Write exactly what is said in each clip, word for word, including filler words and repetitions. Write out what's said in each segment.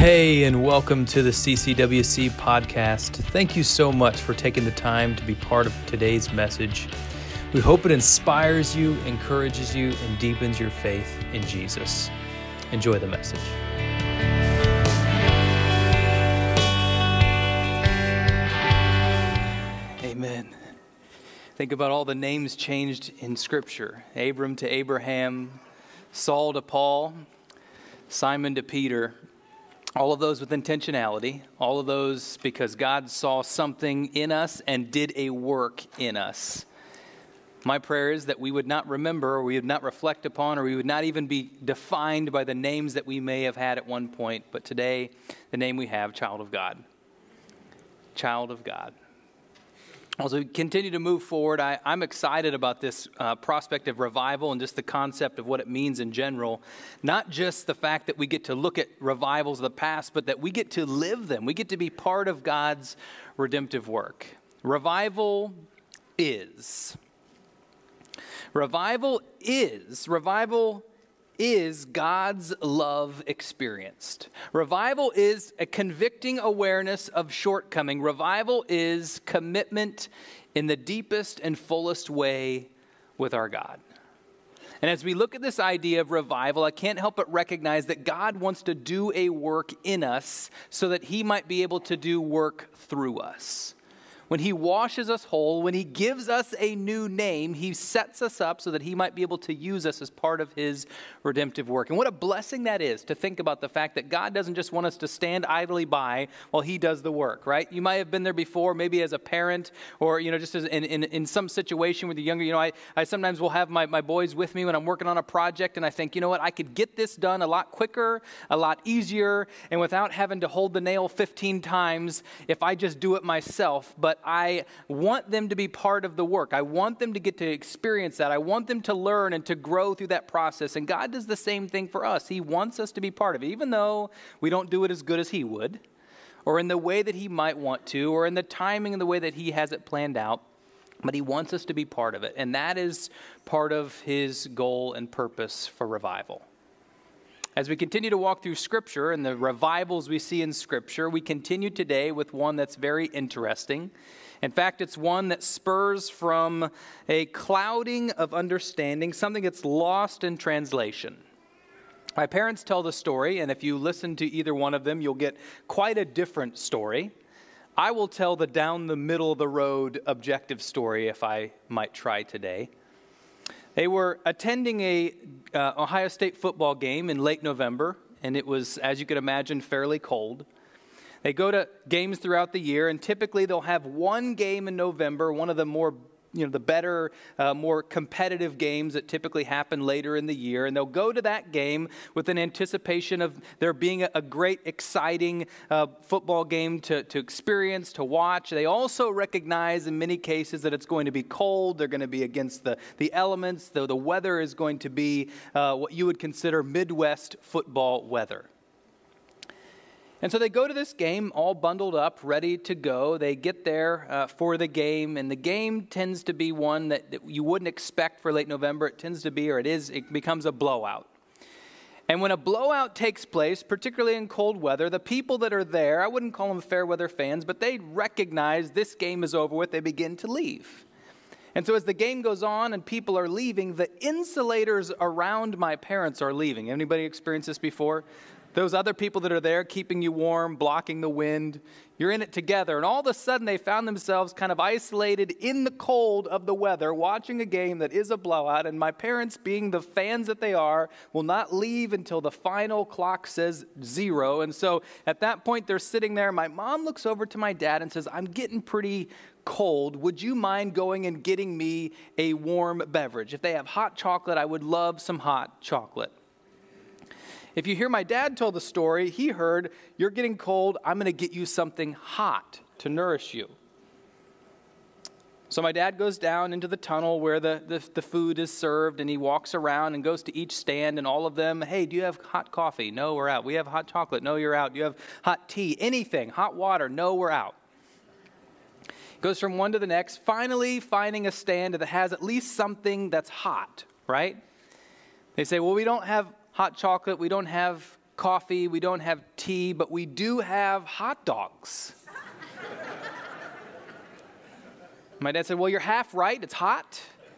Hey, and welcome to the C C W C podcast. Thank you so much for taking the time to be part of today's message. We hope it inspires you, encourages you, and deepens your faith in Jesus. Enjoy the message. Amen. Think about all the names changed in Scripture. Abram to Abraham, Saul to Paul, Simon to Peter. All of those with intentionality, all of those because God saw something in us and did a work in us. My prayer is that we would not remember, or we would not reflect upon, or we would not even be defined by the names that we may have had at one point, but today, the name we have, child of God. Child of God. As we continue to move forward, I, I'm excited about this uh, prospect of revival and just the concept of what it means in general. Not just the fact that we get to look at revivals of the past, but that we get to live them. We get to be part of God's redemptive work. Revival is. Revival is. Revival is God's love experienced. Revival is a convicting awareness of shortcoming. Revival is commitment in the deepest and fullest way with our God. And as we look at this idea of revival, I can't help but recognize that God wants to do a work in us so that he might be able to do work through us. When he washes us whole, when he gives us a new name, he sets us up so that he might be able to use us as part of his redemptive work. And what a blessing that is to think about the fact that God doesn't just want us to stand idly by while he does the work, right? You might have been there before, maybe as a parent or, you know, just as in, in, in some situation with the younger, you know, I, I sometimes will have my, my boys with me when I'm working on a project and I think, you know what, I could get this done a lot quicker, a lot easier, and without having to hold the nail fifteen times if I just do it myself. But I want them to be part of the work. I want them to get to experience that. I want them to learn and to grow through that process. And God does the same thing for us. He wants us to be part of it, even though we don't do it as good as he would, or in the way that he might want to, or in the timing and the way that he has it planned out. But he wants us to be part of it. And that is part of his goal and purpose for revival. As we continue to walk through Scripture and the revivals we see in Scripture, we continue today with one that's very interesting. In fact, it's one that spurs from a clouding of understanding, something that's lost in translation. My parents tell the story, and if you listen to either one of them, you'll get quite a different story. I will tell the down the middle of the road objective story if I might try today. They were attending a uh, Ohio State football game in late November, and it was, as you could imagine, fairly cold. They go to games throughout the year, and typically they'll have one game in November, one of the more, you know, the better, uh, more competitive games that typically happen later in the year. And they'll go to that game with an anticipation of there being a, a great, exciting uh, football game to, to experience, to watch. They also recognize in many cases that it's going to be cold. They're going to be against the, the elements. The, the weather is going to be uh, what you would consider Midwest football weather. And so they go to this game all bundled up, ready to go. They get there uh, for the game, and the game tends to be one that, that you wouldn't expect for late November. It tends to be, or it is, it becomes a blowout. And when a blowout takes place, particularly in cold weather, the people that are there, I wouldn't call them fair weather fans, but they recognize this game is over with. They begin to leave. And so as the game goes on and people are leaving, the insulators around my parents are leaving. Anybody experienced this before? Those other people that are there keeping you warm, blocking the wind, you're in it together. And all of a sudden they found themselves kind of isolated in the cold of the weather, watching a game that is a blowout. And my parents, being the fans that they are, will not leave until the final clock says zero. And so at that point they're sitting there. My mom looks over to my dad and says, "I'm getting pretty cold. Would you mind going and getting me a warm beverage? If they have hot chocolate, I would love some hot chocolate." If you hear my dad tell the story, he heard, "You're getting cold, I'm going to get you something hot to nourish you." So my dad goes down into the tunnel where the, the, the food is served, and he walks around and goes to each stand, and all of them, "Hey, do you have hot coffee?" "No, we're out." "We have hot chocolate." "No, you're out." "Do you have hot tea?" "Anything." "Hot water?" "No, we're out." Goes from one to the next, finally finding a stand that has at least something that's hot, right? They say, "Well, we don't have hot chocolate, we don't have coffee, we don't have tea, but we do have hot dogs. My dad said, well, you're half right. It's hot.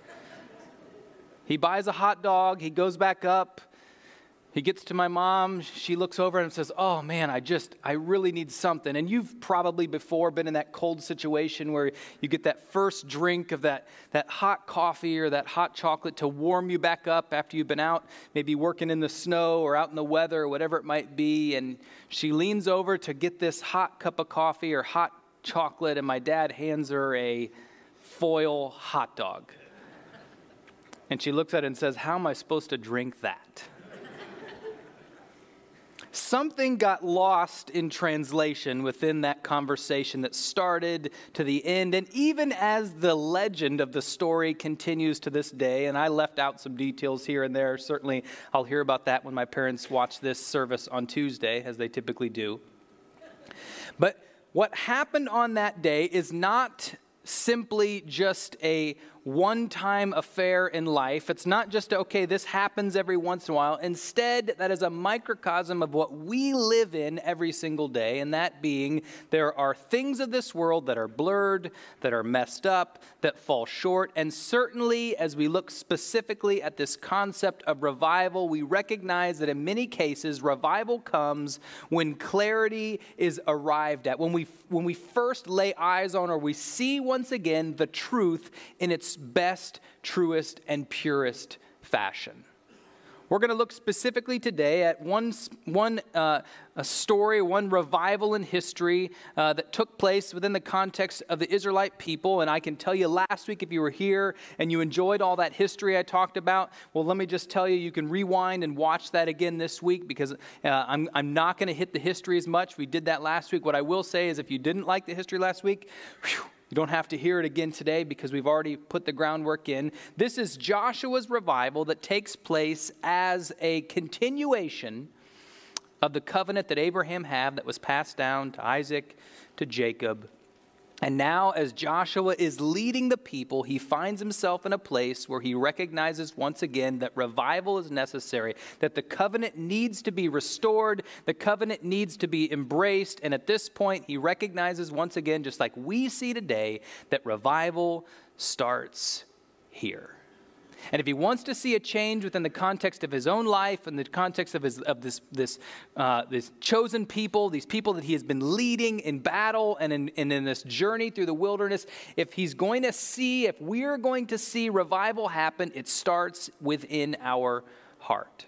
He buys a hot dog. He goes back up. He gets to my mom. She looks over and says, oh, man, I just, I really need something. And you've probably before been in that cold situation where you get that first drink of that, that hot coffee or that hot chocolate to warm you back up after you've been out, maybe working in the snow or out in the weather or whatever it might be. And she leans over to get this hot cup of coffee or hot chocolate, and my dad hands her a foil hot dog. And she looks at it and says, how am I supposed to drink that? Something got lost in translation within that conversation that started to the end. And even as the legend of the story continues to this day, and I left out some details here and there, certainly I'll hear about that when my parents watch this service on Tuesday, as they typically do. But what happened on that day is not simply just a one-time affair in life. It's not just, okay, this happens every once in a while. Instead, that is a microcosm of what we live in every single day, and that being there are things of this world that are blurred, that are messed up, that fall short. And certainly, as we look specifically at this concept of revival, we recognize that in many cases, revival comes when clarity is arrived at, when we, when we first lay eyes on or we see once again the truth in its best, truest, and purest fashion. We're going to look specifically today at one, one uh, a story, one revival in history uh, that took place within the context of the Israelite people. And I can tell you last week, if you were here and you enjoyed all that history I talked about, well, let me just tell you, you can rewind and watch that again this week, because uh, I'm, I'm not going to hit the history as much. We did that last week. What I will say is if you didn't like the history last week, whew, you don't have to hear it again today because we've already put the groundwork in. This is Joshua's revival that takes place as a continuation of the covenant that Abraham had that was passed down to Isaac, to Jacob. And now as Joshua is leading the people, he finds himself in a place where he recognizes once again that revival is necessary, that the covenant needs to be restored, the covenant needs to be embraced. And at this point, he recognizes once again, just like we see today, that revival starts here. And if he wants to see a change within the context of his own life and the context of his of this this uh, this chosen people, these people that he has been leading in battle and in, and in this journey through the wilderness, if he's going to see, if we're going to see revival happen, it starts within our heart.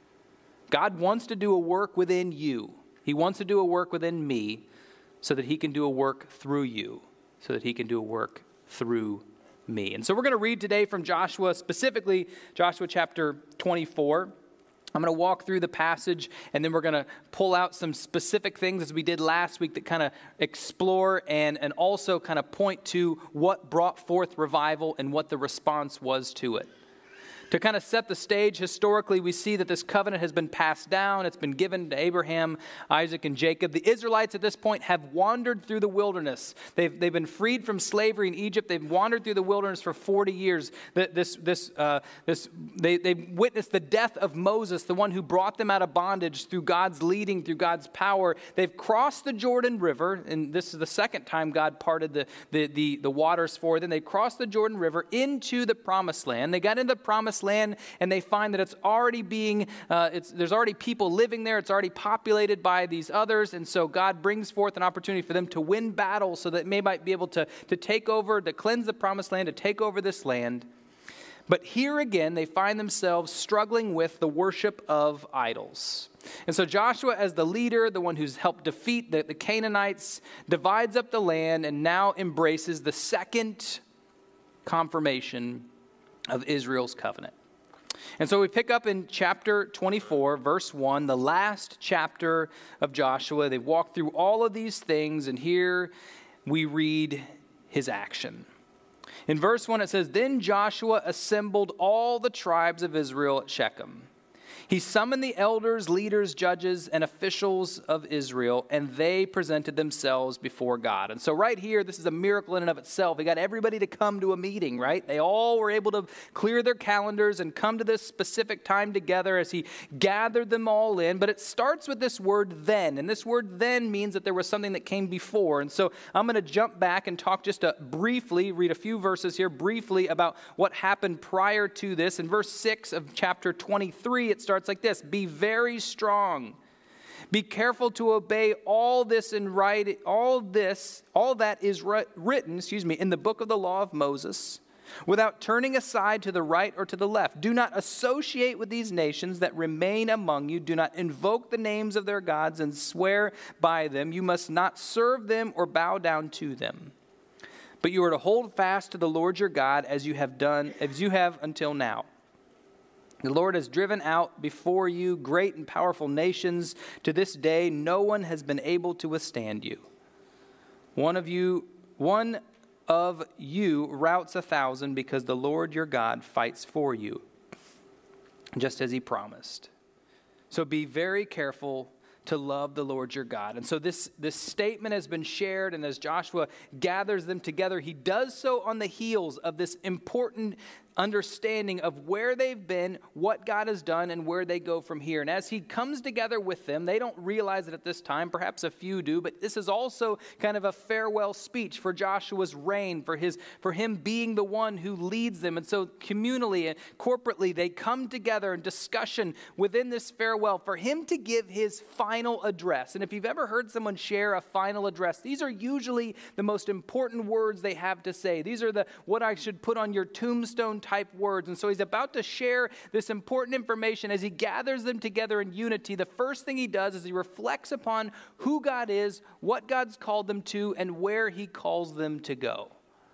God wants to do a work within you. He wants to do a work within me so that he can do a work through you, so that he can do a work through me. And so we're going to read today from Joshua, specifically Joshua chapter twenty-four. I'm going to walk through the passage, and then we're going to pull out some specific things as we did last week that kind of explore and, and also kind of point to what brought forth revival and what the response was to it. To kind of set the stage, historically, we see that this covenant has been passed down. It's been given to Abraham, Isaac, and Jacob. The Israelites at this point have wandered through the wilderness. They've, they've been freed from slavery in Egypt. They've wandered through the wilderness for forty years. This, this, uh, this, they, they witnessed the death of Moses, the one who brought them out of bondage through God's leading, through God's power. They've crossed the Jordan River, and this is the second time God parted the, the, the, the waters for them. They crossed the Jordan River into the Promised Land. They got into the Promised land, and they find that it's already being, uh, it's, there's already people living there. It's already populated by these others, and so God brings forth an opportunity for them to win battles so that they might be able to, to take over, to cleanse the Promised Land, to take over this land. But here again, they find themselves struggling with the worship of idols. And so Joshua, as the leader, the one who's helped defeat the, the Canaanites, divides up the land and now embraces the second confirmation of Israel's covenant. And so we pick up in chapter twenty-four, verse one, the last chapter of Joshua. They've walked through all of these things, and here we read his action. In verse one, it says, "Then Joshua assembled all the tribes of Israel at Shechem. He summoned the elders, leaders, judges, and officials of Israel, and they presented themselves before God. And so right here, this is a miracle in and of itself. He got everybody to come to a meeting, right? They all were able to clear their calendars and come to this specific time together as he gathered them all in. But it starts with this word then, and this word then means that there was something that came before. And so I'm going to jump back and talk just a, briefly, read a few verses here briefly about what happened prior to this. In verse six of chapter twenty-three, it starts like this: be very strong. Be careful to obey all this in writing, all this, all that is written, excuse me, in the book of the law of Moses, without turning aside to the right or to the left. Do not associate with these nations that remain among you. Do not invoke the names of their gods and swear by them. You must not serve them or bow down to them. But you are to hold fast to the Lord your God as you have done, as you have until now. The Lord has driven out before you great and powerful nations. To this day, no one has been able to withstand you. One of you, one of you routs a thousand, because the Lord your God fights for you, just as he promised. So be very careful to love the Lord your God. And so this, this statement has been shared, and as Joshua gathers them together, he does so on the heels of this important understanding of where they've been, what God has done, and where they go from here. And as he comes together with them, they don't realize it at this time, perhaps a few do, but this is also kind of a farewell speech for Joshua's reign, for his for him being the one who leads them. And so communally and corporately, they come together in discussion within this farewell for him to give his final address. And if you've ever heard someone share a final address, these are usually the most important words they have to say. These are the what I should put on your tombstone type words. And so he's about to share this important information as he gathers them together in unity. The first thing he does is he reflects upon who God is, what God's called them to, and where he calls them to go.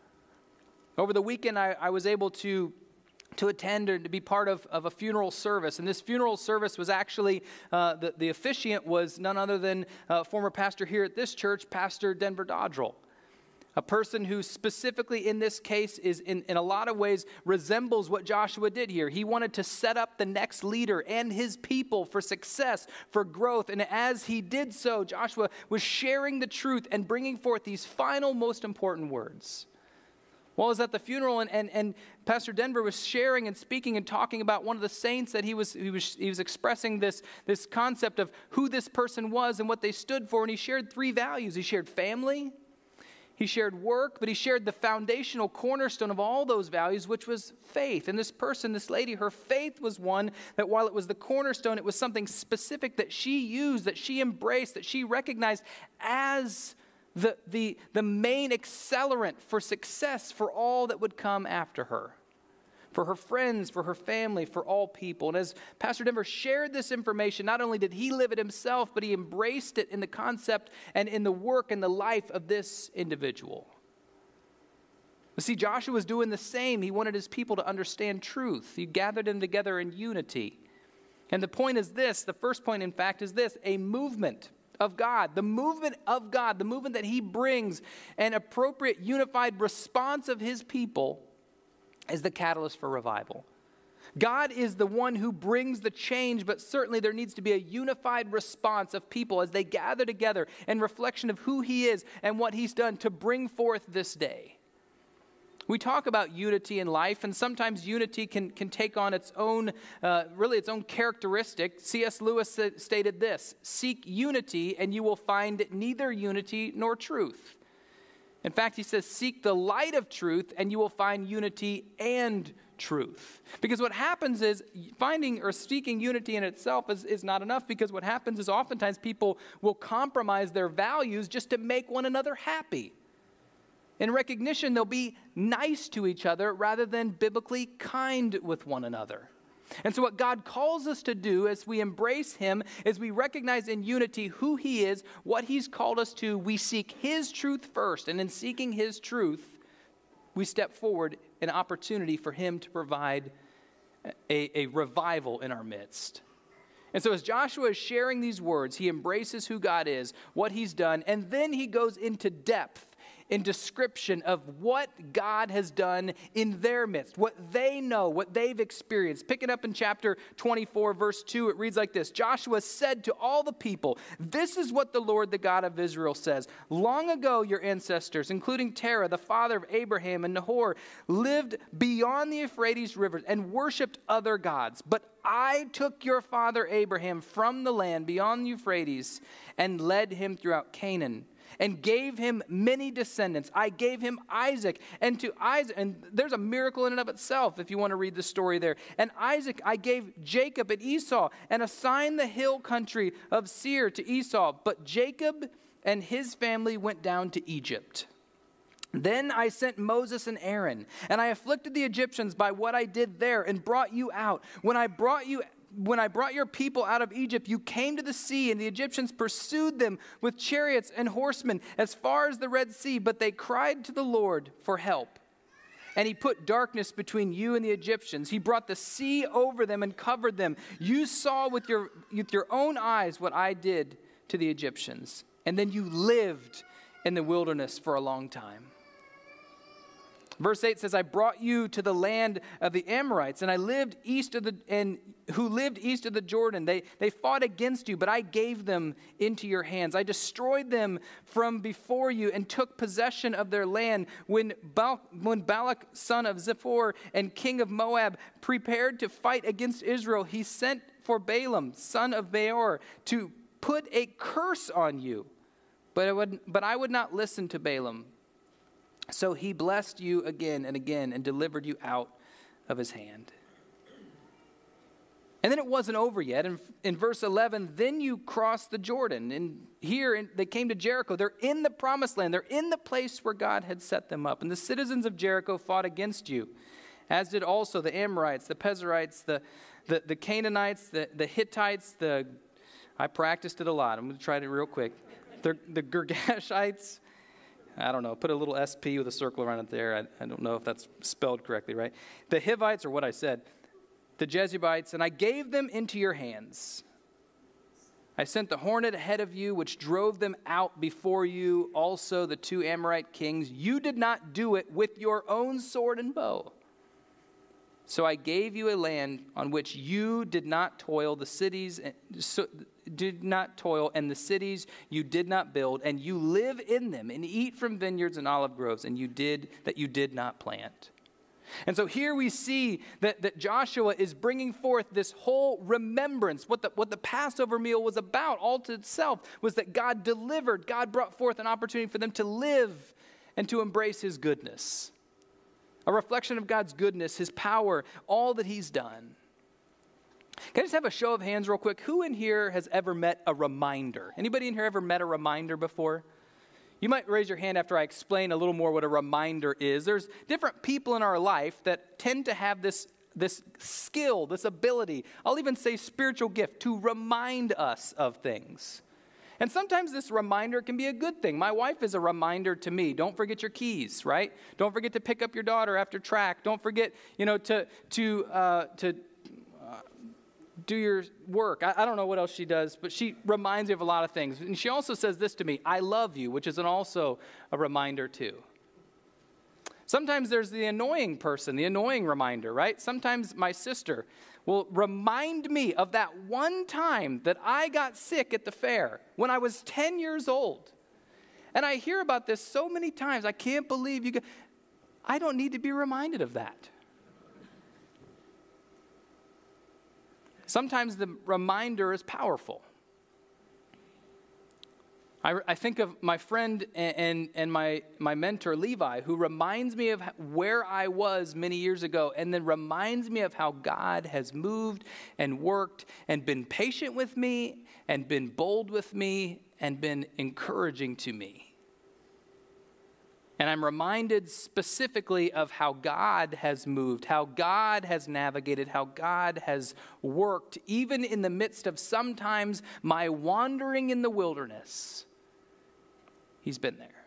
Over the weekend, I, I was able to to attend or to be part of, of a funeral service. And this funeral service was actually, uh, the, the officiant was none other than uh, former pastor here at this church, Pastor Denver Dodrell. A person who specifically in this case is in, in a lot of ways resembles what Joshua did here. He wanted to set up the next leader and his people for success, for growth. And as he did so, Joshua was sharing the truth and bringing forth these final most important words. Well, I was at the funeral, and, and, and Pastor Denver was sharing and speaking and talking about one of the saints that he was he was he was expressing this, this concept of who this person was and what they stood for. And he shared three values. He shared family, he shared work, but he shared the foundational cornerstone of all those values, which was faith. And this person, this lady, her faith was one that while it was the cornerstone, it was something specific that she used, that she embraced, that she recognized as The, the, the main accelerant for success for all that would come after her, for her friends, for her family, for all people. And as Pastor Denver shared this information, not only did he live it himself, but he embraced it in the concept and in the work and the life of this individual. But see, Joshua was doing the same. He wanted his people to understand truth. He gathered them together in unity. And the point is this, the first point, in fact, is this: a movement of God, the movement of God, the movement that he brings, an appropriate unified response of his people is the catalyst for revival. God is the one who brings the change, but certainly there needs to be a unified response of people as they gather together in reflection of who he is and what he's done to bring forth this day. We talk about unity in life, and sometimes unity can, can take on its own, uh, really its own characteristic. C S Lewis stated this: seek unity and you will find neither unity nor truth. In fact, he says, seek the light of truth and you will find unity and truth. Because what happens is finding or seeking unity in itself is, is not enough, because what happens is oftentimes people will compromise their values just to make one another happy. In recognition, they'll be nice to each other rather than biblically kind with one another. And so what God calls us to do as we embrace him is we recognize in unity who he is, what he's called us to. We seek his truth first. And in seeking his truth, we step forward an opportunity for him to provide a, a revival in our midst. And so as Joshua is sharing these words, he embraces who God is, what he's done, and then he goes into depth in description of what God has done in their midst, what they know, what they've experienced. Pick it up in chapter twenty-four, verse two. It reads like this. Joshua said to all the people, "This is what the Lord, the God of Israel, says. Long ago, your ancestors, including Terah, the father of Abraham and Nahor, lived beyond the Euphrates River and worshipped other gods. But I took your father Abraham from the land beyond the Euphrates and led him throughout Canaan, and gave him many descendants. I gave him Isaac, and to Isaac, and there's a miracle in and of itself if you want to read the story there. And Isaac I gave Jacob and Esau, and assigned the hill country of Seir to Esau. But Jacob and his family went down to Egypt. Then I sent Moses and Aaron, and I afflicted the Egyptians by what I did there, and brought you out. When I brought you When I brought your people out of Egypt, you came to the sea, and the Egyptians pursued them with chariots and horsemen as far as the Red Sea, but they cried to the Lord for help. And he put darkness between you and the Egyptians. He brought the sea over them and covered them. You saw with your, with your own eyes what I did to the Egyptians. And then you lived in the wilderness for a long time." Verse eight says, "I brought you to the land of the Amorites, and I lived east of the and who lived east of the Jordan. They they fought against you, but I gave them into your hands. I destroyed them from before you and took possession of their land. When Bal- when Balak, son of Zippor and king of Moab, prepared to fight against Israel, he sent for Balaam, son of Beor, to put a curse on you. But I would but I would not listen to Balaam. So he blessed you again and again and delivered you out of his hand." And then it wasn't over yet. In, in verse eleven, then you crossed the Jordan. And here in, they came to Jericho. They're in the promised land. They're in the place where God had set them up. And the citizens of Jericho fought against you, as did also the Amorites, the Pezerites, the, the, the Canaanites, the, the Hittites, the, I practiced it a lot. I'm going to try it real quick. The, the Girgashites. I don't know, put a little S P with a circle around it there. I, I don't know if that's spelled correctly, right? The Hivites, or what I said, the Jebusites, and I gave them into your hands. I sent the hornet ahead of you, which drove them out before you, also the two Amorite kings. You did not do it with your own sword and bow. So I gave you a land on which you did not toil, the cities so, did not toil, and the cities you did not build, and you live in them and eat from vineyards and olive groves, and you did that you did not plant. And so here we see that, that Joshua is bringing forth this whole remembrance. What the, what the Passover meal was about all to itself was that God delivered, God brought forth an opportunity for them to live and to embrace his goodness. A reflection of God's goodness, his power, all that he's done. Can I just have a show of hands real quick? Who in here has ever met a reminder? Anybody in here ever met a reminder before? You might raise your hand after I explain a little more what a reminder is. There's different people in our life that tend to have this, this skill, this ability, I'll even say spiritual gift, to remind us of things. And sometimes this reminder can be a good thing. My wife is a reminder to me. Don't forget your keys, right? Don't forget to pick up your daughter after track. Don't forget, you know, to to uh, to uh, do your work. I, I don't know what else she does, but she reminds me of a lot of things. And she also says this to me: "I love you," which is an also a reminder too. Sometimes there's the annoying person, the annoying reminder, right? Sometimes my sister will remind me of that one time that I got sick at the fair when I was ten years old. And I hear about this so many times. I can't believe you got... I don't need to be reminded of that. Sometimes the reminder is powerful. I, I think of my friend and, and, and my, my mentor, Levi, who reminds me of where I was many years ago, and then reminds me of how God has moved and worked and been patient with me and been bold with me and been encouraging to me. And I'm reminded specifically of how God has moved, how God has navigated, how God has worked, even in the midst of sometimes my wandering in the wilderness. He's been there.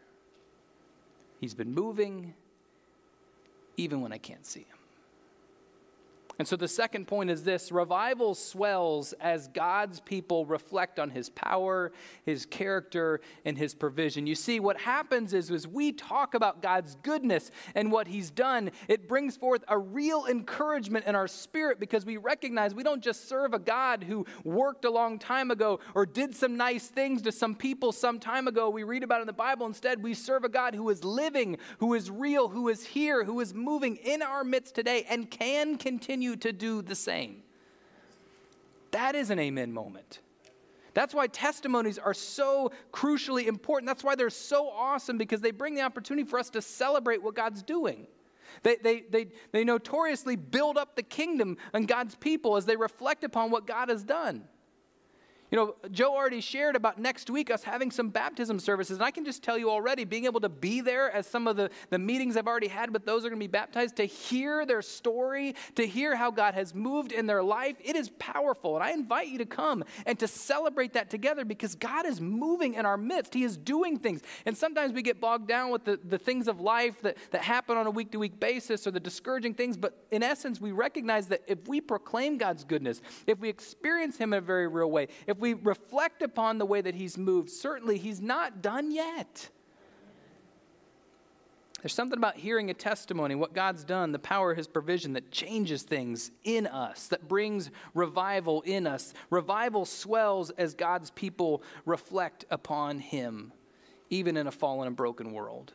He's been moving, even when I can't see him. And so the second point is this: revival swells as God's people reflect on his power, his character, and his provision. You see, what happens is, as we talk about God's goodness and what he's done, it brings forth a real encouragement in our spirit, because we recognize we don't just serve a God who worked a long time ago or did some nice things to some people some time ago we read about in the Bible. Instead, we serve a God who is living, who is real, who is here, who is moving in our midst today and can continue to do the same. That is an amen moment. That's why testimonies are so crucially important. That's why they're so awesome, because they bring the opportunity for us to celebrate what God's doing. They, they, they, they notoriously build up the kingdom and God's people as they reflect upon what God has done. You know, Joe already shared about next week us having some baptism services. And I can just tell you already, being able to be there as some of the, the meetings I've already had with those who are going to be baptized, to hear their story, to hear how God has moved in their life, it is powerful. And I invite you to come and to celebrate that together, because God is moving in our midst. He is doing things. And sometimes we get bogged down with the, the things of life that, that happen on a week-to-week basis, or the discouraging things. But in essence, we recognize that if we proclaim God's goodness, if we experience him in a very real way, if we reflect upon the way that he's moved, certainly he's not done yet. There's something about hearing a testimony, what God's done, the power of his provision, that changes things in us, that brings revival in us. Revival swells as God's people reflect upon him, even in a fallen and broken world.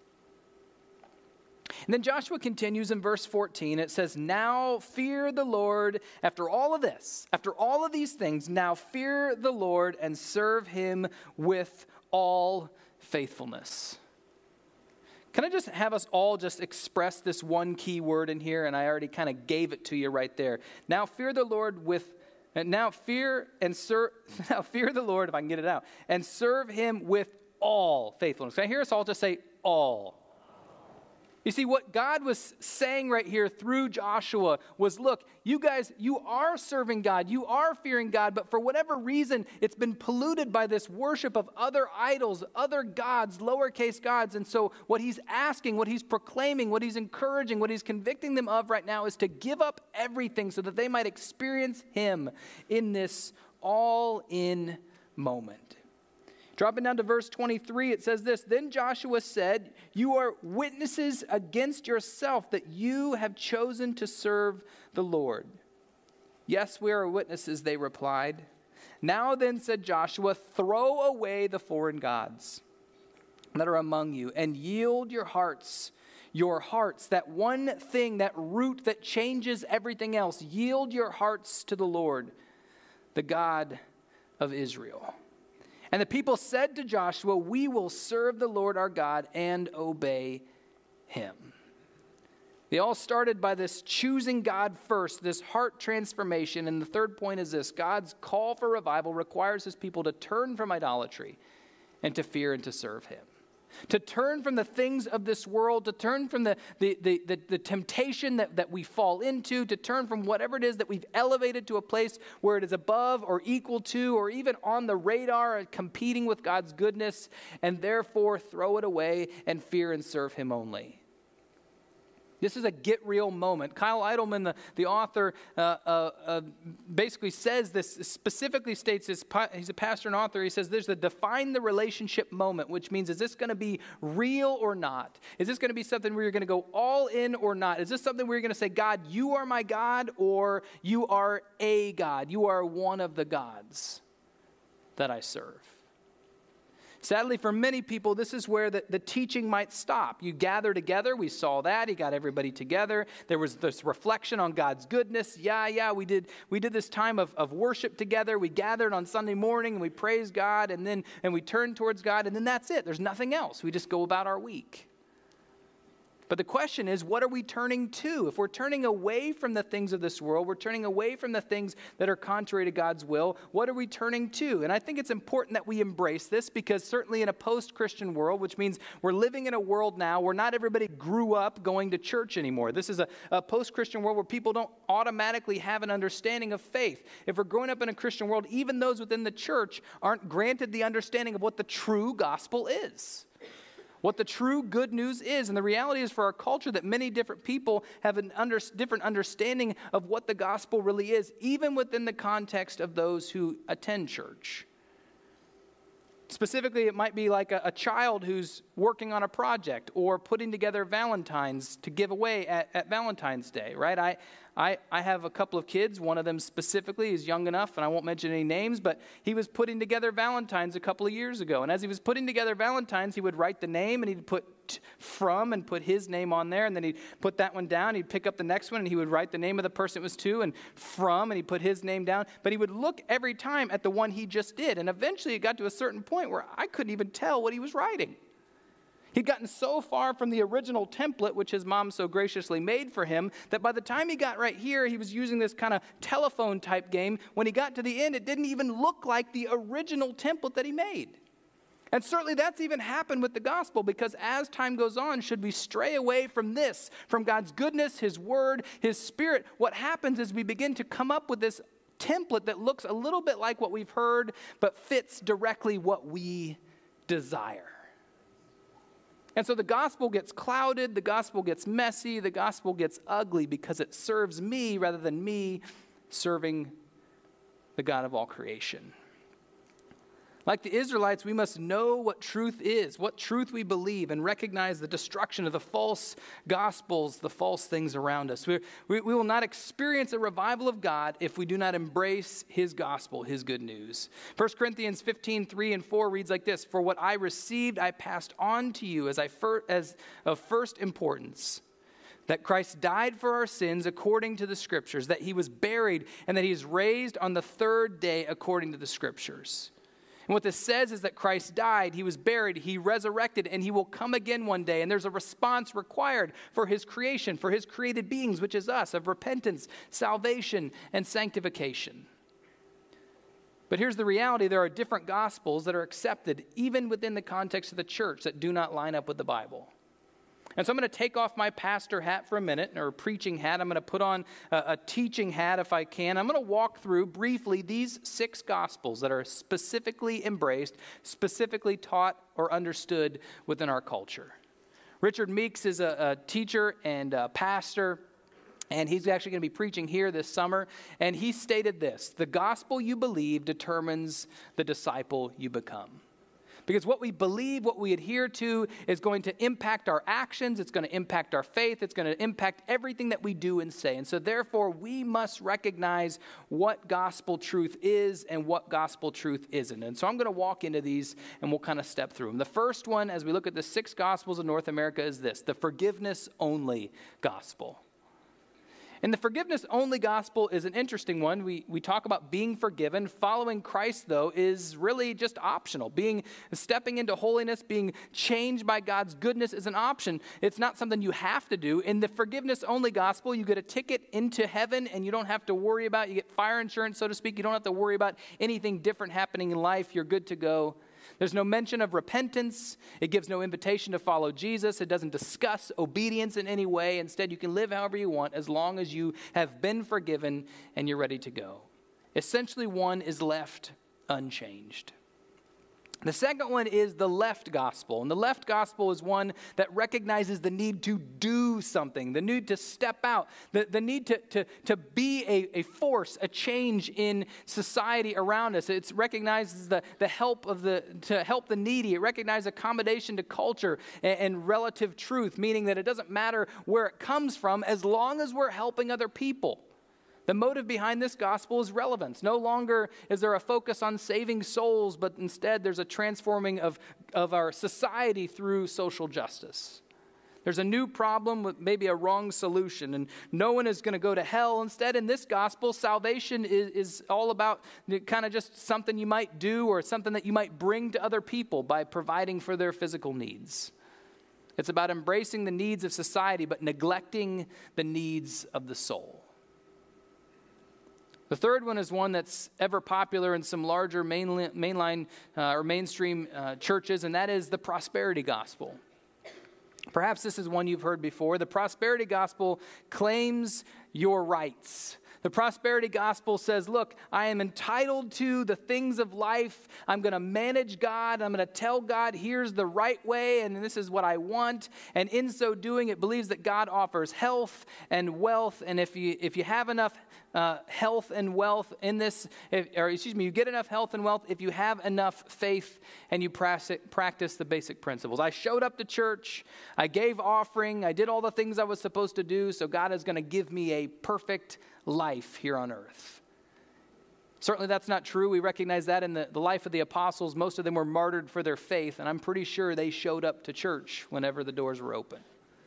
And then Joshua continues in verse fourteen. It says, "Now fear the Lord." After all of this, after all of these things, now fear the Lord and serve him with all faithfulness. Can I just have us all just express this one key word in here? And I already kind of gave it to you right there. Now fear the Lord with, and now fear and serve, now fear the Lord, if I can get it out, and serve him with all faithfulness. Can I hear us all just say all? You see, what God was saying right here through Joshua was, look, you guys, you are serving God, you are fearing God, but for whatever reason, it's been polluted by this worship of other idols, other gods, lowercase gods. And so what he's asking, what he's proclaiming, what he's encouraging, what he's convicting them of right now is to give up everything so that they might experience him in this all-in moment. Dropping down to verse twenty-three, it says this: "Then Joshua said, 'You are witnesses against yourself that you have chosen to serve the Lord.' 'Yes, we are witnesses,' they replied. 'Now then,' said Joshua, 'throw away the foreign gods that are among you and yield your hearts, your hearts,' that one thing, that root that changes everything else, 'yield your hearts to the Lord, the God of Israel.' And the people said to Joshua, 'We will serve the Lord our God and obey him.'" They all started by this choosing God first, this heart transformation. And the third point is this: God's call for revival requires his people to turn from idolatry and to fear and to serve him. To turn from the things of this world, to turn from the, the, the, the, the temptation that, that we fall into, to turn from whatever it is that we've elevated to a place where it is above or equal to or even on the radar, competing with God's goodness, and therefore throw it away and fear and serve him only. This is a get real moment. Kyle Idleman, the, the author, uh, uh, uh, basically says this, specifically states this, he's a pastor and author, he says there's a define the relationship moment, which means, is this going to be real or not? Is this going to be something where you're going to go all in or not? Is this something where you're going to say, God, you are my God, or you are a God? You are one of the gods that I serve. Sadly, for many people, this is where the, the teaching might stop. You gather together. We saw that. He got everybody together. There was this reflection on God's goodness. Yeah, yeah, we did we did this time of, of worship together. We gathered on Sunday morning, and we praised God, and then and we turned towards God, and then that's it. There's nothing else. We just go about our week. But the question is, what are we turning to? If we're turning away from the things of this world, we're turning away from the things that are contrary to God's will, what are we turning to? And I think it's important that we embrace this, because certainly in a post-Christian world, which means we're living in a world now where not everybody grew up going to church anymore. This is a, a post-Christian world where people don't automatically have an understanding of faith. If we're growing up in a Christian world, even those within the church aren't granted the understanding of what the true gospel is. what the true good news is. And the reality is for our culture that many different people have a under, different understanding of what the gospel really is, even within the context of those who attend church. Specifically, it might be like a, a child who's working on a project or putting together Valentines to give away at, at Valentine's Day, right? I, I, I have a couple of kids. One of them specifically is young enough, and I won't mention any names, but he was putting together Valentines a couple of years ago. And as he was putting together Valentines, he would write the name, and he'd put t- from and put his name on there, and then he'd put that one down. He'd pick up the next one, and he would write the name of the person it was to, and from, and he'd put his name down. But he would look every time at the one he just did, and eventually it got to a certain point where I couldn't even tell what he was writing. He'd gotten so far from the original template, which his mom so graciously made for him, that by the time he got right here, he was using this kind of telephone type game. When he got to the end, it didn't even look like the original template that he made. And certainly that's even happened with the gospel, because as time goes on, should we stray away from this, from God's goodness, his word, his spirit, what happens is we begin to come up with this template that looks a little bit like what we've heard, but fits directly what we desire. And so the gospel gets clouded, the gospel gets messy, the gospel gets ugly because it serves me rather than me serving the God of all creation. Like the Israelites, we must know what truth is, what truth we believe, and recognize the destruction of the false gospels, the false things around us. We, we, we will not experience a revival of God if we do not embrace his gospel, his good news. First Corinthians fifteen, three and four reads like this: "For what I received, I passed on to you as, I fir- as of first importance, that Christ died for our sins according to the Scriptures, that he was buried, and that he is raised on the third day according to the Scriptures." And what this says is that Christ died, he was buried, he resurrected, and he will come again one day. And there's a response required for his creation, for his created beings, which is us, of repentance, salvation, and sanctification. But here's the reality: there are different gospels that are accepted even within the context of the church that do not line up with the Bible. And so I'm going to take off my pastor hat for a minute, or a preaching hat. I'm going to put on a, a teaching hat if I can. I'm going to walk through briefly these six gospels that are specifically embraced, specifically taught or understood within our culture. Richard Meeks is a, a teacher and a pastor, and he's actually going to be preaching here this summer. And he stated this: "The gospel you believe determines the disciple you become." Because what we believe, what we adhere to, is going to impact our actions, it's going to impact our faith, it's going to impact everything that we do and say. And so therefore, we must recognize what gospel truth is and what gospel truth isn't. And so I'm going to walk into these and we'll kind of step through them. The first one, as we look at the six gospels of North America, is this: the forgiveness-only gospel. And the forgiveness-only gospel is an interesting one. We we talk about being forgiven. Following Christ, though, is really just optional. Being stepping into holiness, being changed by God's goodness is an option. It's not something you have to do. In the forgiveness-only gospel, you get a ticket into heaven, and you don't have to worry about, you get fire insurance, so to speak. You don't have to worry about anything different happening in life. You're good to go. There's no mention of repentance. It gives no invitation to follow Jesus. It doesn't discuss obedience in any way. Instead, you can live however you want as long as you have been forgiven and you're ready to go. Essentially, one is left unchanged. The second one is the left gospel. And the left gospel is one that recognizes the need to do something, the need to step out, the, the need to, to, to be a, a force, a change in society around us. It recognizes the, the help of the, to help the needy. It recognizes accommodation to culture and, and relative truth, meaning that it doesn't matter where it comes from as long as we're helping other people. The motive behind this gospel is relevance. No longer is there a focus on saving souls, but instead there's a transforming of, of our society through social justice. There's a new problem with maybe a wrong solution, and no one is going to go to hell. Instead, in this gospel, salvation is, is all about kind of just something you might do or something that you might bring to other people by providing for their physical needs. It's about embracing the needs of society, but neglecting the needs of the soul. The third one is one that's ever popular in some larger mainline, mainline uh, or mainstream uh, churches, and that is the prosperity gospel. Perhaps this is one you've heard before. The prosperity gospel claims your rights. The prosperity gospel says, look, I am entitled to the things of life. I'm going to manage God. I'm going to tell God, here's the right way, and this is what I want. And in so doing, it believes that God offers health and wealth. And if you if you have enough uh, health and wealth in this, if, or excuse me, you get enough health and wealth if you have enough faith and you practice the basic principles. I showed up to church. I gave offering. I did all the things I was supposed to do. So God is going to give me a perfect life here on earth. Certainly that's not true. We recognize that in the, the life of the apostles. Most of them were martyred for their faith, and I'm pretty sure they showed up to church whenever the doors were open.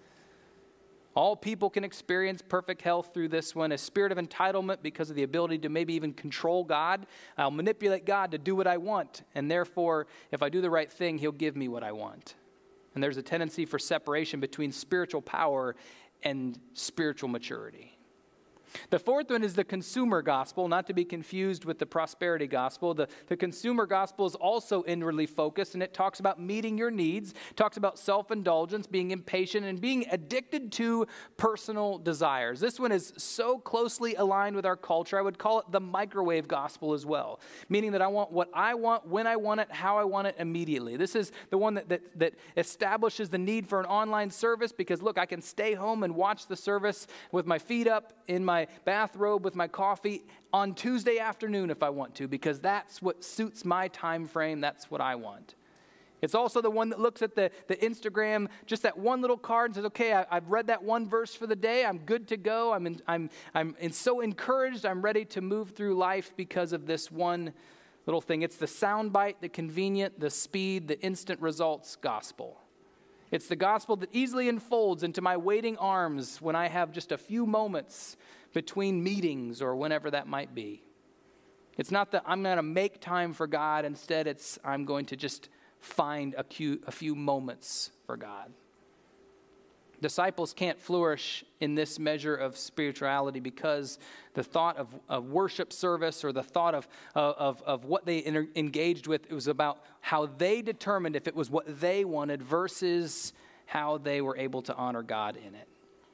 All people can experience perfect health through this one, a spirit of entitlement because of the ability to maybe even control God. I'll manipulate God to do what I want, and therefore, if I do the right thing, he'll give me what I want. And there's a tendency for separation between spiritual power and spiritual maturity. The fourth one is the consumer gospel, not to be confused with the prosperity gospel. The, the consumer gospel is also inwardly focused, and it talks about meeting your needs, talks about self-indulgence, being impatient, and being addicted to personal desires. This one is so closely aligned with our culture, I would call it the microwave gospel as well, meaning that I want what I want, when I want it, how I want it immediately. This is the one that, that, that establishes the need for an online service because, look, I can stay home and watch the service with my feet up in my bathrobe with my coffee on Tuesday afternoon if I want to, because that's what suits my time frame. That's what I want. It's also the one that looks at the, the Instagram, just that one little card and says, okay, I, I've read that one verse for the day. I'm good to go. I'm in, I'm I'm in so encouraged. I'm ready to move through life because of this one little thing. It's the soundbite, the convenient, the speed, the instant results gospel. It's the gospel that easily unfolds into my waiting arms when I have just a few moments between meetings or whenever that might be. It's not that I'm going to make time for God. Instead, it's I'm going to just find a few, a few moments for God. Disciples can't flourish in this measure of spirituality because the thought of, of worship service or the thought of, of, of what they inter- engaged with, it was about how they determined if it was what they wanted versus how they were able to honor God in it.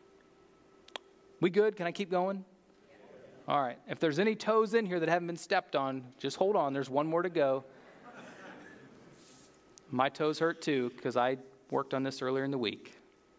We good? Can I keep going? All right. If there's any toes in here that haven't been stepped on, just hold on. There's one more to go. My toes hurt too because I worked on this earlier in the week.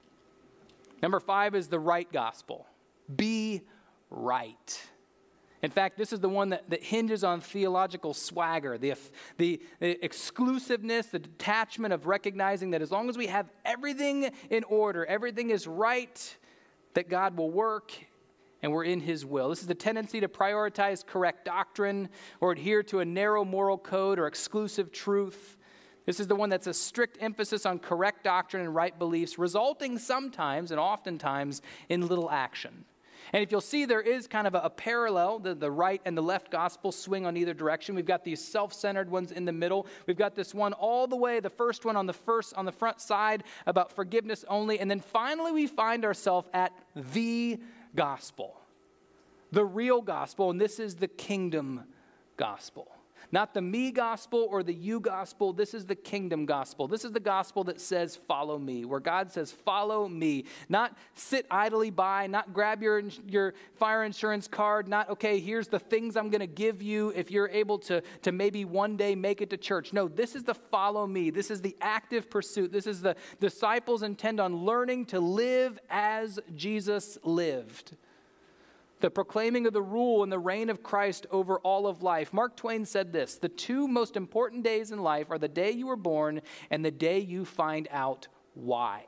Number five is the right gospel. Be right. In fact, this is the one that, that hinges on theological swagger, the, the, the exclusiveness, the detachment of recognizing that as long as we have everything in order, everything is right, that God will work and we're in his will. This is the tendency to prioritize correct doctrine or adhere to a narrow moral code or exclusive truth. This is the one that's a strict emphasis on correct doctrine and right beliefs, resulting sometimes and oftentimes in little action. And if you'll see, there is kind of a, a parallel. The, the right and the left gospel swing on either direction. We've got these self-centered ones in the middle. We've got this one all the way, the first one on the first on the front side about forgiveness only. And then finally we find ourselves at the gospel, the real gospel, and this is the kingdom gospel. Not the me gospel or the you gospel. This is the kingdom gospel. This is the gospel that says, follow me, where God says, follow me. Not sit idly by, not grab your, your fire insurance card, not, okay, here's the things I'm going to give you if you're able to, to maybe one day make it to church. No, this is the follow me. This is the active pursuit. This is the disciples intend on learning to live as Jesus lived. The proclaiming of the rule and the reign of Christ over all of life. Mark Twain said this, the two most important days in life are the day you were born and the day you find out why.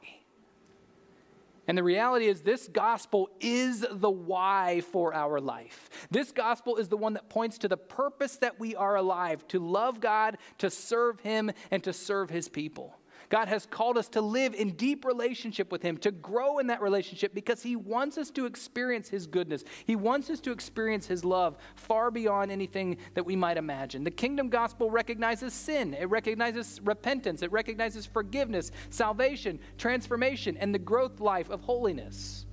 And the reality is this gospel is the why for our life. This gospel is the one that points to the purpose that we are alive, to love God, to serve him, and to serve his people. God has called us to live in deep relationship with him, to grow in that relationship because he wants us to experience his goodness. He wants us to experience his love far beyond anything that we might imagine. The kingdom gospel recognizes sin. It recognizes repentance. It recognizes forgiveness, salvation, transformation, and the growth life of holiness.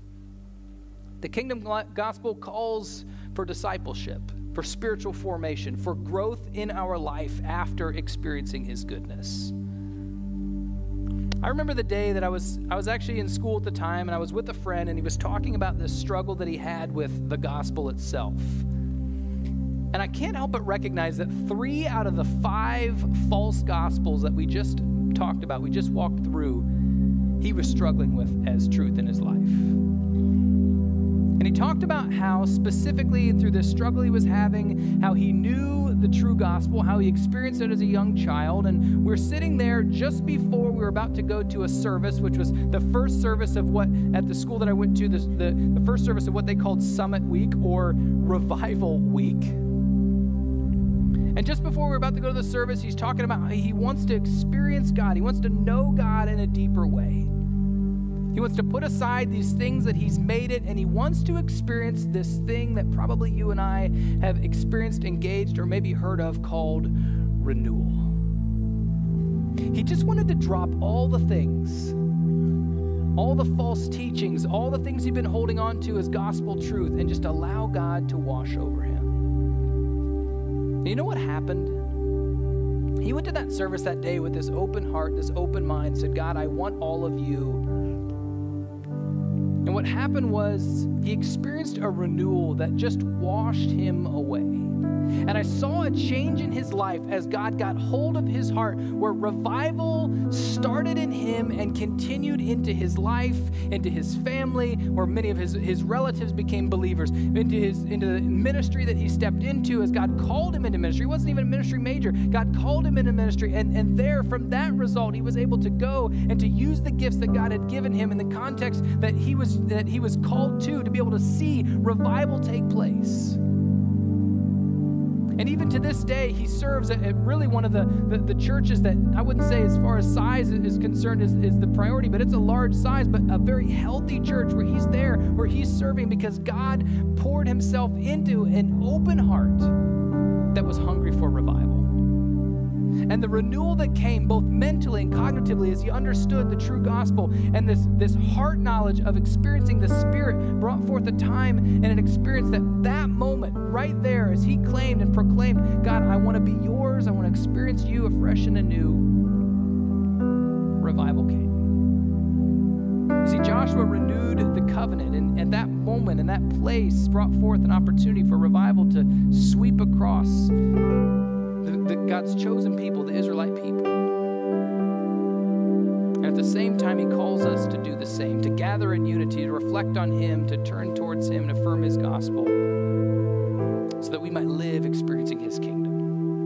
The kingdom gospel calls for discipleship, for spiritual formation, for growth in our life after experiencing his goodness. I remember the day that I was I was actually in school at the time, and I was with a friend, and he was talking about this struggle that he had with the gospel itself. And I can't help but recognize that three out of the five false gospels that we just talked about, we just walked through, he was struggling with as truth in his life. And he talked about how specifically through this struggle he was having, how he knew the true gospel, how he experienced it as a young child. And we were sitting there just before we were about to go to a service, which was the first service of what, at the school that I went to, the, the, the first service of what they called Summit Week or Revival Week. And just before we were about to go to the service, he's talking about how he wants to experience God. He wants to know God in a deeper way. He wants to put aside these things that he's made it, and he wants to experience this thing that probably you and I have experienced, engaged, or maybe heard of called renewal. He just wanted to drop all the things, all the false teachings, all the things he'd been holding on to as gospel truth, and just allow God to wash over him. And you know what happened? He went to that service that day with this open heart, this open mind, said, God, I want all of you. And what happened was he experienced a renewal that just washed him away. And I saw a change in his life as God got hold of his heart, where revival started in him and continued into his life, into his family, where many of his, his relatives became believers, into his into the ministry that he stepped into as God called him into ministry. He wasn't even a ministry major. God called him into ministry, and, and there, from that result, he was able to go and to use the gifts that God had given him in the context that he was that he was called to, to be able to see revival take place. And even to this day, he serves at, at really one of the, the, the churches that I wouldn't say as far as size is concerned is, is the priority, but it's a large size, but a very healthy church where he's there, where he's serving because God poured himself into an open heart that was hungry for revival. And the renewal that came both mentally and cognitively as he understood the true gospel, and this, this heart knowledge of experiencing the Spirit brought forth a time and an experience that that moment right there as he claimed and proclaimed, God, I want to be yours. I want to experience you afresh and anew. Revival came. You see, Joshua renewed the covenant, and at that moment, in that place, brought forth an opportunity for revival to sweep across The, the God's chosen people, the Israelite people. And at the same time, he calls us to do the same, to gather in unity, to reflect on him, to turn towards him, and affirm his gospel, so that we might live experiencing his kingdom.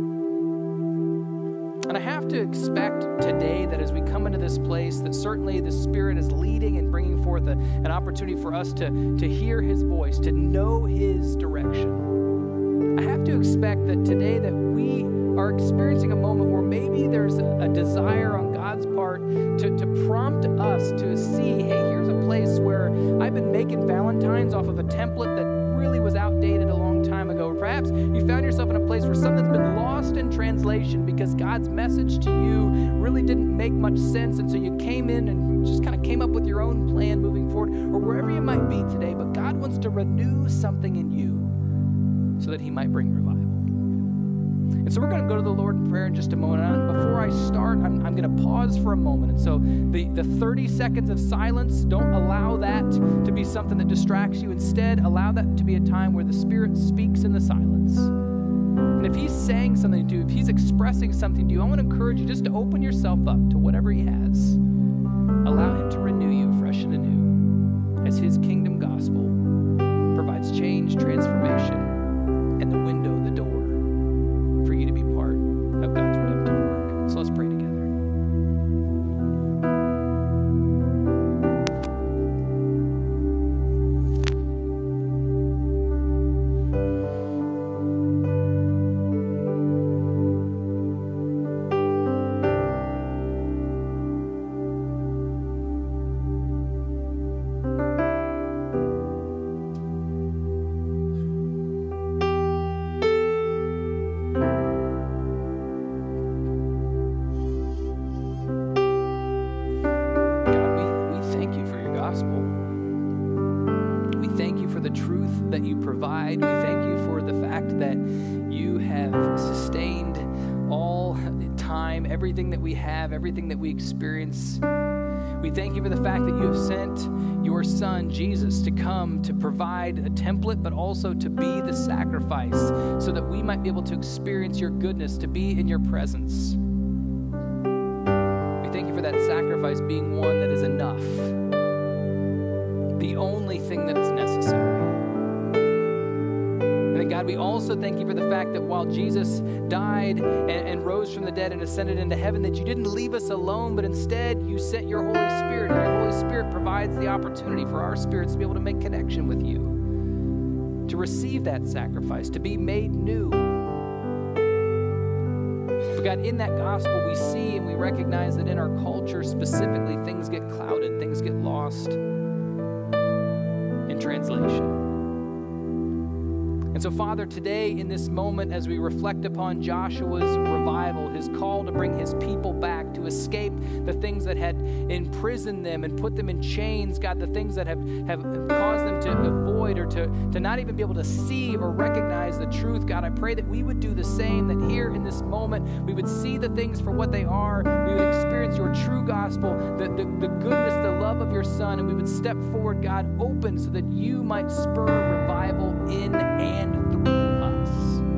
And I have to expect today that as we come into this place, that certainly the Spirit is leading and bringing forth a, an opportunity for us to, to hear his voice, to know his direction. I have to expect that today that we are experiencing a moment where maybe there's a, a desire on God's part to, to prompt us to see, hey, here's a place where I've been making Valentines off of a template that really was outdated a long time ago. Or perhaps you found yourself in a place where something's been lost in translation because God's message to you really didn't make much sense, and so you came in and just kind of came up with your own plan moving forward, or wherever you might be today. But God wants to renew something in you, so that he might bring revival. And so we're going to go to the Lord in prayer in just a moment. And before I start, I'm, I'm going to pause for a moment. And so the, the thirty seconds of silence, don't allow that to be something that distracts you. Instead, allow that to be a time where the Spirit speaks in the silence. And if he's saying something to you, if he's expressing something to you, I want to encourage you just to open yourself up to whatever he has. Allow him to renew you fresh and anew as his kingdom gospel provides change, transformation, and the window, the door, for you to be part of God's redemptive work. So let's pray together. provide. We thank you for the fact that you have sustained all time, everything that we have, everything that we experience. We thank you for the fact that you have sent your son, Jesus, to come to provide a template, but also to be the sacrifice so that we might be able to experience your goodness, to be in your presence. We thank you for that sacrifice being one that is enough, the only thing that is necessary. And then, God, we also thank you for the fact that while Jesus died and, and rose from the dead and ascended into heaven, that you didn't leave us alone, but instead you sent your Holy Spirit, and your Holy Spirit provides the opportunity for our spirits to be able to make connection with you, to receive that sacrifice, to be made new. But God, in that gospel, we see and we recognize that in our culture specifically, things get clouded, things get lost in translation. And so, Father, today in this moment, as we reflect upon Joshua's revival, his call to bring his people back, to escape the things that had imprisoned them and put them in chains, God, the things that have, have caused them to avoid or to, to not even be able to see or recognize the truth, God, I pray that we would do the same, that here in this moment, we would see the things for what they are, we would experience your true gospel, the, the, the goodness, the love of your Son, and we would step forward, God, open so that you might spur revival in and through us.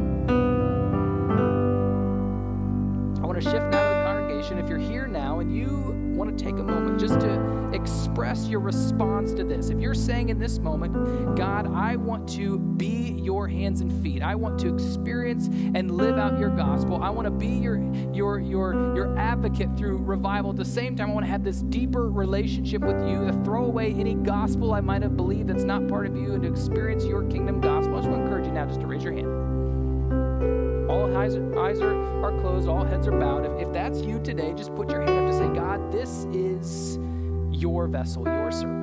I want to shift now to the congregation. If you're here now and you want to take a moment just to express your response to this, if you're saying in this moment, God, I want to be your hands and feet. I want to experience and live out your gospel. I want to be your, your, your, your advocate through revival. At the same time, I want to have this deeper relationship with you, to throw away any gospel I might have believed that's not part of you, and to experience your kingdom gospel. I just want to encourage you now just to raise your hand. All eyes are, eyes are, are closed, all heads are bowed. If, if that's you today, just put your hand up to say, God, this is your vessel, your servant.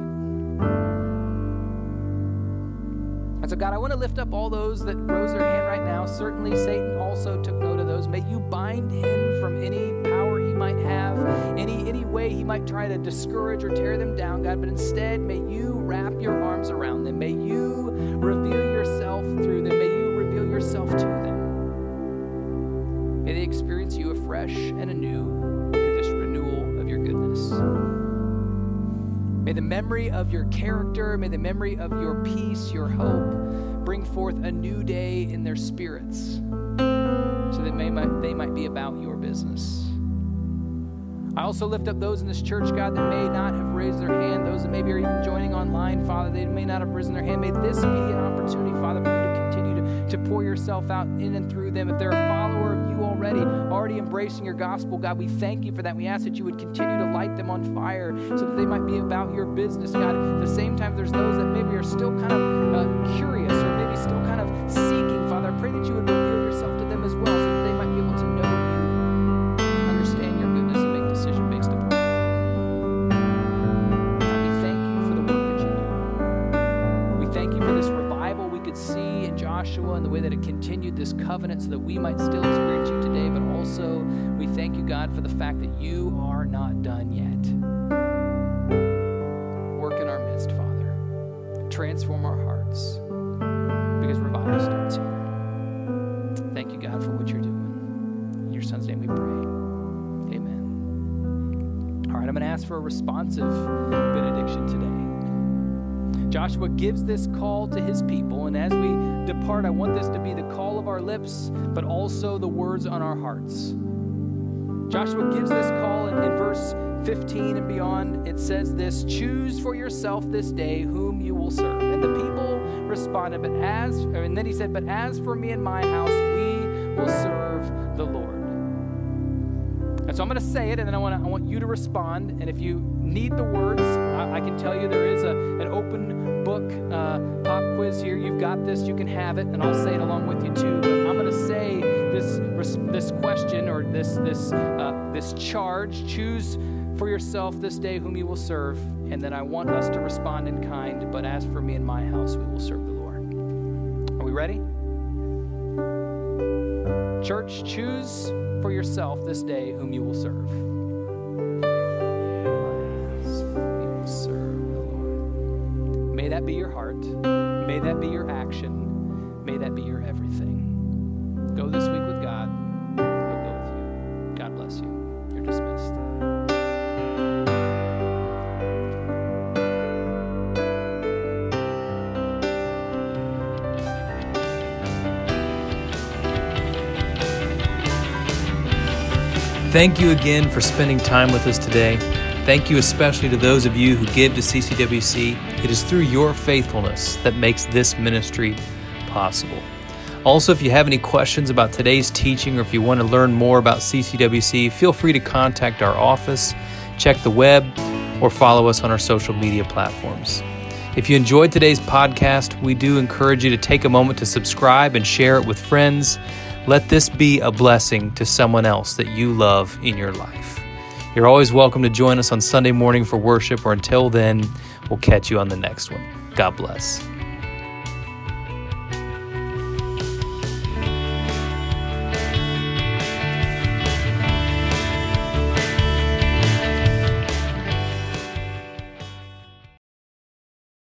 And so, God, I want to lift up all those that rose their hand right now. Certainly, Satan also took note of those. May you bind him from any power he might have, any, any way he might try to discourage or tear them down, God. But instead, may you wrap your arms around them. May you reveal yourself through them. May you reveal yourself to them. May they experience you afresh and anew through this renewal of your goodness. May the memory of your character, may the memory of your peace, your hope, bring forth a new day in their spirits so that may, might, they might be about your business. I also lift up those in this church, God, that may not have raised their hand, those that maybe are even joining online, Father, they may not have risen their hand. May this be an opportunity, Father, for you to continue to, to pour yourself out in and through them. If they're a follower of you already, already embracing your gospel, God, we thank you for that. We ask that you would continue to light them on fire so that they might be about your business, God. At the same time, there's those that maybe are still kind of uh, curious or maybe still kind of seeking, Father. I pray that you would reveal yourself to them as well so that they might be able to know you, understand your goodness, and make decisions based upon it. God, we thank you for the work that you do. We thank you for this revival we could see in Joshua and the way that it continued this covenant so that we might still experience you today, but also we thank you, God, for the fact that you are not done yet. Work in our midst, Father. Transform our hearts, because revival starts here. Thank you, God, for what you're doing. In your Son's name we pray. Amen. All right, I'm going to ask for a responsive benediction today. Joshua gives this call to his people, and as we depart, I want this to be the call of our lips, but also the words on our hearts. Joshua gives this call in, in verse fifteen and beyond. It says this: choose for yourself this day whom you will serve. And the people responded, but as, and then he said, but as for me and my house, we will serve the Lord. And so I'm going to say it, and then I want to, I want you to respond. And if you need the words, I, I can tell you there is a, an open book uh, pop quiz here. You've got this. You can have it, and I'll say it along with you too. But I'm going to say this this question or this this uh, this charge: choose for yourself this day whom you will serve. And then I want us to respond in kind. But as for me and my house, we will serve the Lord. Are we ready? Church, choose for yourself this day whom you will serve. We will serve the Lord. May that be your heart. May that be your action. May that be your everything. Go this week with God. He'll go with you. God bless you. You're dismissed. Thank you again for spending time with us today. Thank you especially to those of you who give to C C W C. It is through your faithfulness that makes this ministry possible. Also, if you have any questions about today's teaching or if you want to learn more about C C W C, feel free to contact our office, check the web, or follow us on our social media platforms. If you enjoyed today's podcast, we do encourage you to take a moment to subscribe and share it with friends. Let this be a blessing to someone else that you love in your life. You're always welcome to join us on Sunday morning for worship, or until then, we'll catch you on the next one. God bless.